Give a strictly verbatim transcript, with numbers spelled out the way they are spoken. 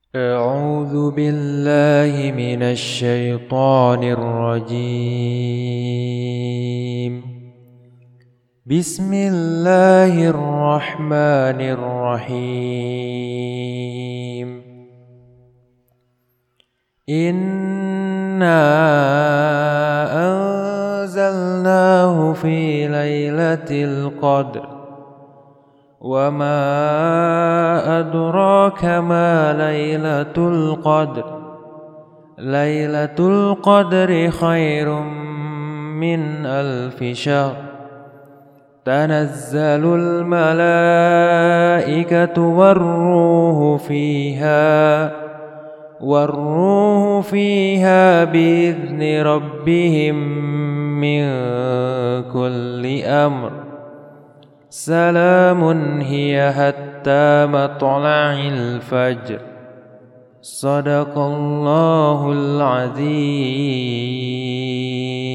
أعوذ بالله من الشيطان الرجيم. بسم الله الرحمن الرحيم. إنا أنزلناه في ليلة القدر وما أدراك ما ليلة القدر ليلة القدر خير من ألف شهر تنزل الملائكة والروح فيها والروح فيها بإذن ربهم من كل أمر سلام هي حتى مطلع الفجر. صدق الله العظيم.